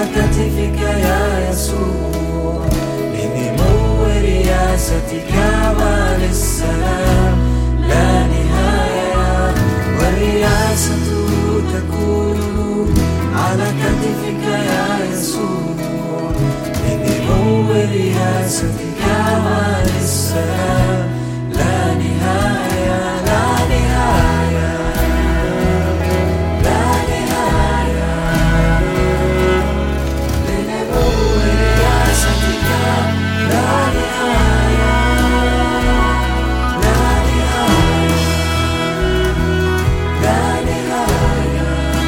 كتفك يا يسوع، لنمو رياستك وللسلام لا نهاية، والرياسة تكون على كتفك يا يسوع، لنمو رياستك وللسلام لا نهاية، لا نهاية، لا نهاية، لنمو رياستك لا نهاية، لا نهاية، لا نهاية،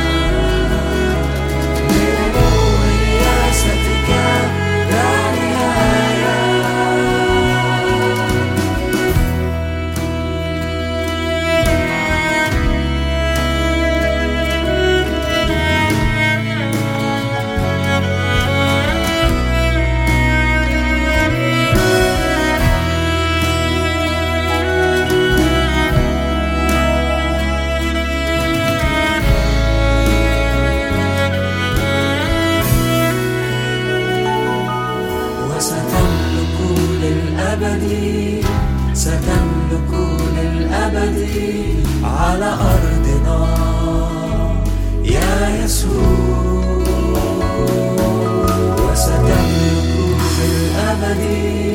لنمو رياستك لا نهاية. وستملك للأبد، ستملك للأبد على أرضنا يا يسوع، وستملك للأبد